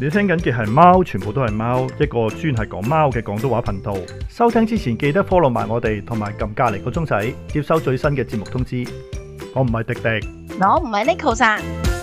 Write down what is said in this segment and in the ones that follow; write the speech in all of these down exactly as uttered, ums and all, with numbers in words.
你聽緊嘅係貓，全部都係貓，一個專係講貓嘅廣東話頻道。收聽之前記得 follow 埋我哋，同埋撳隔籬個鐘仔，接收最新嘅節目通知。我唔係迪迪， 我唔係 Neko san。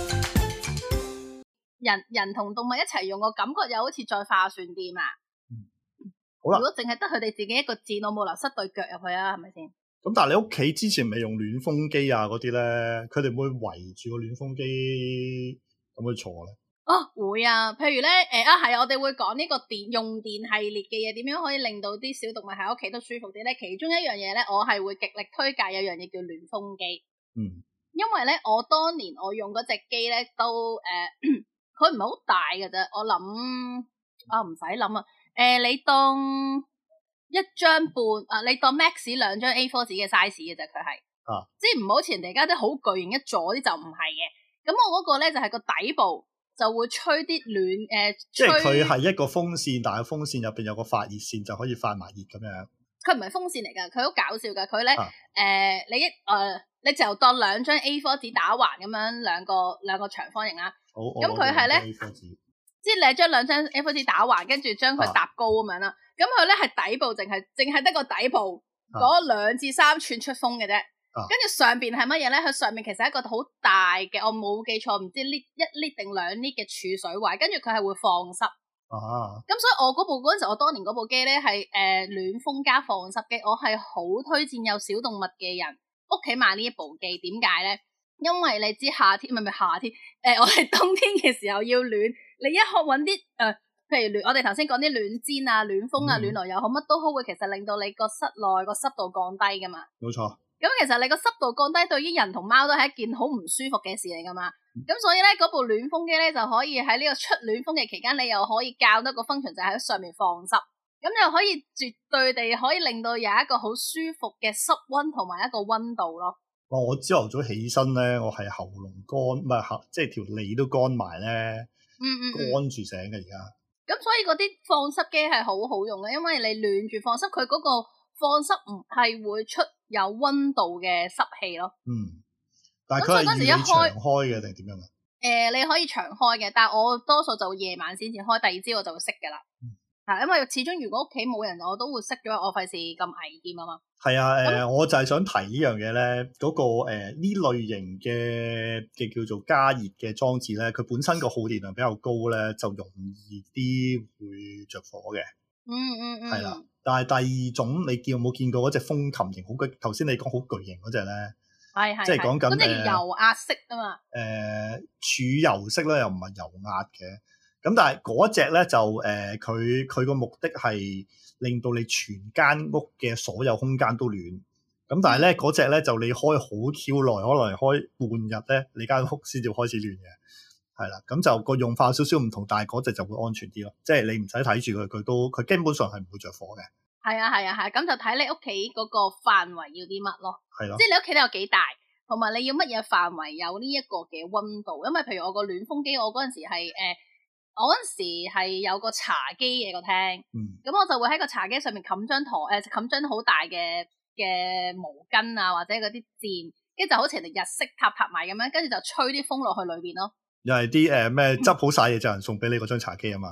人人同動物一齊用，我感覺又好似再化算啲嘛。 嗯、好啦， 如果淨係得佢哋自己一個箭，我冇理由塞對腳入去啊，係咪先？ 咁但係你屋企之前未用暖風機啊嗰啲咧，佢哋會圍住個暖風機咁去坐咧？ 哦，會啊，譬如咧，誒、呃、啊，係啊，我哋會講呢個電用電系列嘅嘢，點樣可以令到啲小動物喺屋企都舒服啲咧？其中一樣嘢咧，我係會極力推介有樣嘢叫暖風機。嗯，因為咧，我當年我用嗰隻機咧，都誒，佢唔係好大嘅啫。我諗啊，唔使諗啊，誒、呃，你當一張半啊，你當 max 兩張 A 四 紙嘅 size 嘅啫，佢係啊，即係唔好似人哋家啲好巨型一座啲就唔係嘅。咁我嗰個咧就係、是、個底部。就會吹啲暖誒，呃、即係佢係一個風扇，但係風扇入邊有個發熱線，就可以發埋熱咁樣。佢唔係風扇嚟㗎，佢好搞笑㗎。佢咧誒，你一誒、呃，你就當兩張 A 四 紙打橫咁樣，兩個兩個長方形啦。好，咁佢係咧，即係你將兩張 A 四 紙打橫，跟住將佢搭高咁樣啦。咁佢咧係底部，淨係淨係得個底部嗰兩至三寸出風嘅啫。跟住、啊、上邊係乜嘢咧？佢上面其實係一個好大嘅，我冇記錯，唔知呢一 lit 定兩 lit 嘅儲水位，跟住佢係會放濕。啊！咁所以我嗰部嗰陣時，我當年嗰部機咧係誒暖風加放濕機，我係好推薦有小動物嘅人屋企買呢一部機。點解咧？因為你知夏天唔係唔係夏天，誒、呃、我哋冬天嘅時候要暖，你一學搵啲誒，譬如暖，我哋頭先講啲暖氈啊、暖風啊、嗯、暖爐又好，乜都好，會其實令到你個室內個濕度降低噶嘛。冇錯。咁其實你個濕度降低，對於人同貓都係一件好唔舒服嘅事嚟噶嘛。咁、嗯、所以咧，嗰部暖風機咧就可以喺呢個出暖風嘅期間，你又可以校得個 function 就喺上面放濕，咁又可以絕對地可以令到有一個好舒服嘅濕溫同埋一個溫度咯。哇！我朝頭早起身咧，我係喉嚨乾，唔係喉，即係條脷都乾埋咧，嗯嗯，乾住醒嘅而家。咁所以嗰啲放濕機係好好用嘅，因為你暖住放濕，佢嗰個放濕唔係會出有溫度嘅濕氣咯，嗯，但係佢係要你長開嘅定點樣啊？誒、呃，你可以長開嘅，但係我多數就夜晚先至開，第二朝我就會熄噶啦，係、嗯、因為始終如果屋企冇人，我都會熄咗，我費事咁危險啊嘛。係啊，誒、呃，我就係想提呢樣嘢咧，嗰、那個誒呢、呃、類型嘅嘅叫做加熱嘅裝置咧，佢本身個耗電量比較高咧，就容易啲會着火嘅。嗯嗯嗯，係啦。但係第二種，你見有冇見過嗰隻風琴型好巨？頭先你講好巨型嗰隻咧，係係，即係講緊嗰隻油壓式啊嘛。誒、呃，儲油式咧又唔係油壓嘅，咁但係嗰隻咧就誒，佢佢個目的係令到你全間屋嘅所有空間都暖。咁但係咧嗰隻咧就你開好 Q 耐，可能開半日咧，你間屋先至開始暖嘅。係啦，咁就個用法有少少唔同，但係嗰隻就會安全啲咯。即係你唔使睇住佢，佢都佢基本上係唔會着火嘅。係啊係啊係，咁就睇你屋企嗰個範圍要啲乜咯。係咯，即係你屋企都有幾大，同埋你要乜嘢範圍有呢一個嘅溫度。因為譬如我個暖風機，我嗰陣時係誒、呃，我嗰陣時係有個茶几嘅個廳，咁、嗯、我就會喺個茶几上面冚張台，誒冚張好大嘅嘅毛巾啊，或者嗰啲墊，跟住就好似人哋日式塔塔埋咁樣，跟住就吹啲風落去裏邊咯。又係啲誒咩執好晒嘢就人送俾你嗰張茶几啊嘛，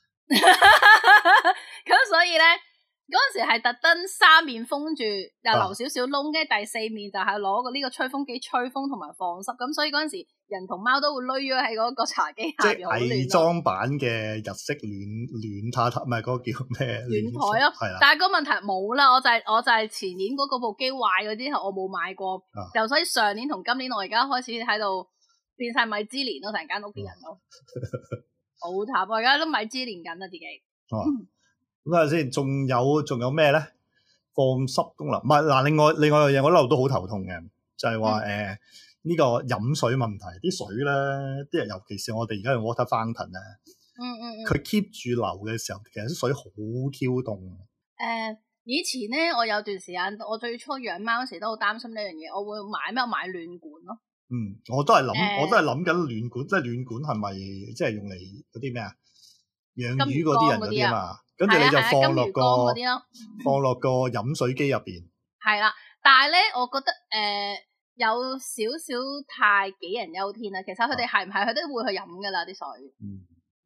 咁所以咧嗰陣時係特登三面封住，又留少少窿，跟住第四面就係攞個呢個吹風機吹風同埋放濕，咁所以嗰陣時人同貓都會匿咗喺嗰個茶几下邊，好暖。偽裝版嘅日式暖暖榻榻，唔係嗰個叫咩暖台咯，係啦。但係個問題冇啦，我就係、是、我就係前年嗰個部機壞咗之後，我冇買過，啊、就所以上年同今年我而家開始喺度。變晒米芝蓮咯，成間屋啲人都好慘，我而家都米芝蓮緊啦自己。哦，咁睇下先，仲有仲有咩咧？放濕功能，唔係嗱，另外另外樣嘢我一路都好頭痛嘅，就係話誒呢個飲水問題，啲水咧，啲人尤其是我哋而家用 water fountain 咧，嗯嗯嗯，佢 keep 住流嘅時候，其實啲水好 Q 凍。誒、呃，以前咧，我有段時間，我最初養貓嗰時都好擔心呢樣嘢，我會買咩？我買暖管咯。嗯，我都係諗，呃、我都係諗緊暖管，即係暖管係咪即係用嚟嗰啲咩啊？養魚嗰啲人嗰啲啊嘛，跟住你就放落個放落個飲水機入邊。係啦，但係咧，我覺得誒、呃、有少少太杞人憂天啦。其實佢哋係唔係佢都會去飲噶啦啲水。嗯，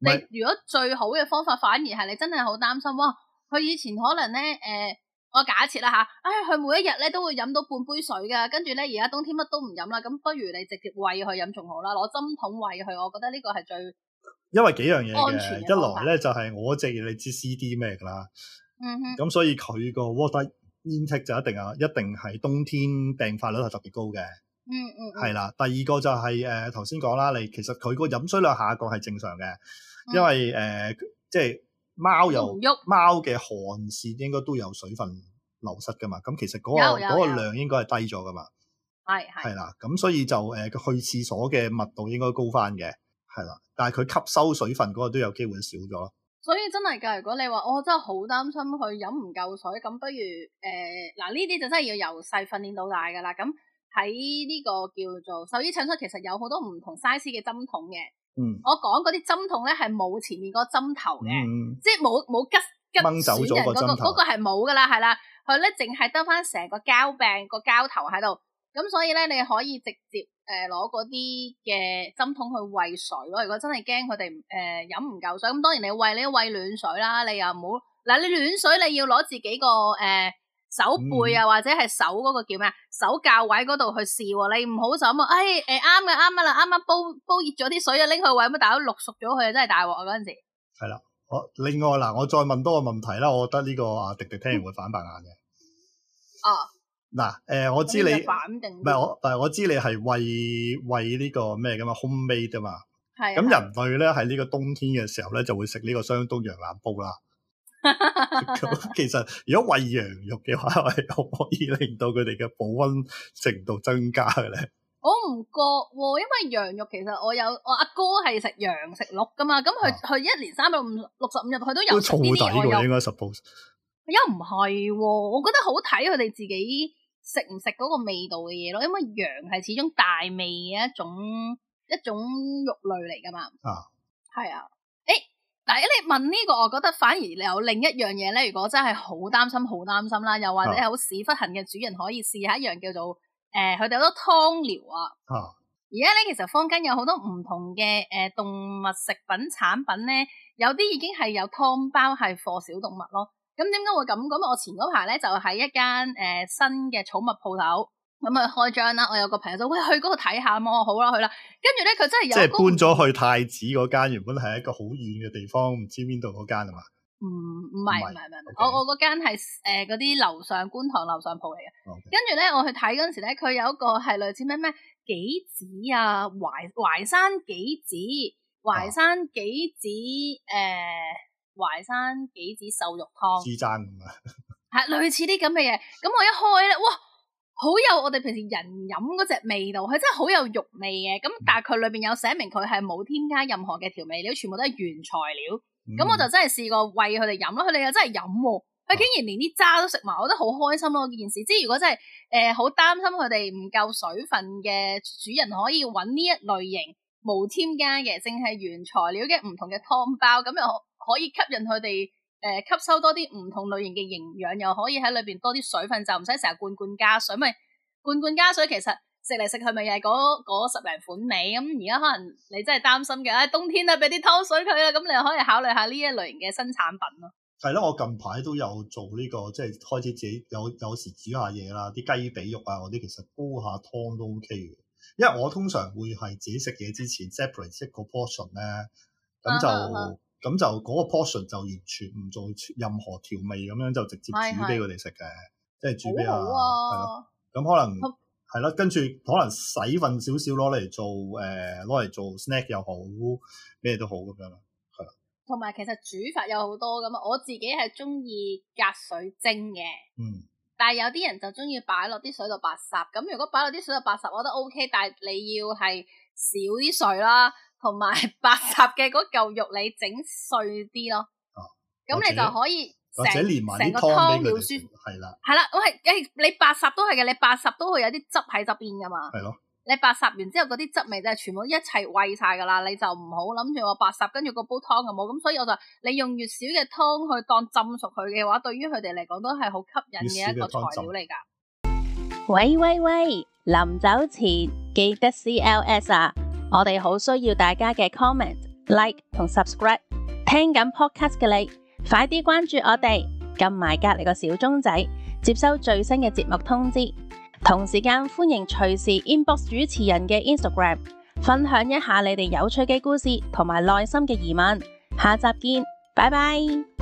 你如果最好嘅方法，反而係你真係好擔心，哇！佢以前可能咧，誒、呃，我假設啦吓，唉、哎，佢每一日咧都會飲到半杯水噶，跟住咧而家冬天乜都唔飲啦，咁不如你直接餵佢飲仲好啦，攞針筒餵佢，我覺得呢個係最因為幾樣嘢安全嘅。 一來咧就係、是、我隻嘢你知 C D 咩噶啦，嗯哼，咁所以佢個 water intake 就一定啊，一定係冬天病發率係特別高嘅。嗯嗯，係啦。第二個就係誒頭先講啦，你其實佢個飲水量下降係正常嘅，嗯、因為誒、呃、即係貓又貓嘅汗腺應該都有水分流失噶嘛，咁其實嗰、嗰個嗰個量應該係低咗噶嘛，係係係啦，咁所以就誒、呃、去廁所嘅密度應該高翻嘅，係啦，但係佢吸收水分嗰個都有機會少咗。 所以真係㗎，如果你話我、哦、真係好擔心佢飲唔夠水，咁不如誒嗱呢啲就真係要由細訓練到大㗎啦。咁喺呢個叫做獸醫診所，其實有好多唔同 size 嘅針筒嘅。嗯，我講嗰啲針筒咧係冇前面嗰個針頭嘅，嗯、即係冇冇吉吉損人嗰、嗰個嗰、嗰個係冇㗎啦，係啦，佢咧淨係得翻成個膠柄個膠頭喺度。咁所以咧，你可以直接誒攞嗰啲嘅針筒去餵水咯。如果真係驚佢哋誒飲唔夠水，咁當然你餵你都餵暖水啦。你又唔好嗱，你暖水你要攞自己個誒、呃、手背啊，或者係手嗰個叫咩啊手教位嗰度去試。你唔好就咁啊，誒誒啱嘅啱嘅啦，啱啱煲煲熱咗啲水啊，拎去餵，咁大佬淥熟咗佢啊，真係大鑊啊嗰陣時。係啦， 我另外嗱，我再問多個問題啦。我覺得呢個啊迪迪聽完會反白眼嘅。 哦。 嗱，誒、呃，我知你唔係我，但係我知你係餵餵呢個咩噶嘛 homemade 啊嘛，係。咁人類咧喺呢個冬天嘅時候咧就會食呢個雙冬羊腩煲啦。咁其實如果餵羊肉嘅話，係可唔可以令到佢哋嘅保溫程度增加嘅咧？ 我唔覺喎，因為羊肉其實我有我阿哥係食羊食鹿噶嘛，咁佢佢一年三百五六十五日佢都有食呢啲嘢。我有應該 suppose 又唔係喎，我覺得好睇佢哋自己食唔食嗰個味道嘅嘢咯，因為羊係始終大味嘅一種一種肉類嚟噶嘛。啊，係啊。誒，但係你問呢個，我覺得反而你有另一樣嘢咧。如果真係好擔心、好擔心啦，又或者係好屎忽痕嘅主人，可以試下一樣叫做誒，佢哋好多湯療啊。啊。而家咧，其實坊間有好多唔同嘅誒、呃、動物食品產品咧，有啲已經係有湯包係貨小動物咯。咁點解會咁？咁我前嗰排咧就喺一間誒、呃、新嘅寵物鋪頭咁去開張啦。我有個朋友就喂去嗰度睇下，我話好啦去啦。跟住咧佢真係有即係搬咗去太子嗰間，原本係一個好遠嘅地方，唔知邊度嗰間啊嘛？唔唔係唔係唔係，我我嗰間係誒嗰啲樓上觀塘樓上鋪嚟嘅。Okay. 跟住咧我去睇嗰陣時咧，佢有一個係類似咩咩杞子啊，淮淮山杞子、淮山杞子誒。啊呃淮山杞子瘦肉湯，豬踭咁啊，係類似啲咁嘅嘢。咁我一開咧，哇，好有我哋平時人飲嗰隻味道，佢真係好有肉味嘅。咁但係佢裏邊有寫明佢係冇添加任何嘅調味料，全部都係原材料。咁、嗯、我就真係試過餵佢哋飲咯，佢哋又真係飲，佢竟然連啲渣都食埋，我覺得好開心咯。件事，即係如果真係誒好擔心佢哋唔夠水分嘅主人，可以揾呢一類型無添加嘅，淨係原材料嘅唔同嘅湯包，咁又可以吸引佢哋誒吸收多啲唔同類型嘅營養，又可以喺裏邊多啲水分，就唔使成日罐罐加水。咪罐罐加水其實食嚟食去咪又係嗰十零款味。咁而家可能你真係擔心嘅，唉、哎、冬天啊俾啲湯水佢啦，咁你又可以考慮下呢一類型嘅新產品咯。 係咯，我近排都有做呢、這個，即係開始自己有有時煮下嘢啦，啲雞髀肉啊嗰啲，其實煲下湯都 OK 嘅。因為我通常會係自己食嘢之前 separate 一個 portion 咧，咁就。Uh, uh, uh. 咁就嗰個 portion 就完全唔做任何調味，咁樣就直接煮俾佢哋食嘅，即係煮俾啊，係咯。咁可能係咯，跟住可能洗份少少攞嚟做誒，攞嚟做 snack 又好，咩都好咁樣咯，係啦。 同埋其實煮法有好多咁啊，我自己係中意隔水蒸嘅，嗯。但係有啲人就中意擺落啲水度白烚，咁如果擺落啲水度白烚，我覺得 OK， 但係你要係少啲水啦。同埋白烚嘅嗰嚿肉你整碎啲咯，咁、啊、你就可以成成個湯料舒服，係啦，係啦，我係誒你白烚都係嘅，你白烚都會有啲汁喺側邊噶嘛，係咯，你白烚完之後嗰啲汁味就係全部一齊餵晒噶啦，你就唔好諗住我白烚跟住個煲湯就冇，咁所以我就你用越少嘅湯去當浸熟佢嘅話，對於佢哋嚟講都係好吸引嘅一個材料嚟噶。 喂喂喂，臨走前記得 C L S 啊！我哋好需要大家嘅 comment、 like 同 subscribe。聽緊 podcast 嘅你，快啲關注我哋，撳埋隔籬個小鐘仔，接收最新嘅節目通知。同時間歡迎隨時 inbox 主持人嘅 Instagram， 分享一下你哋有趣嘅故事同埋內心嘅疑問。下集見，拜拜。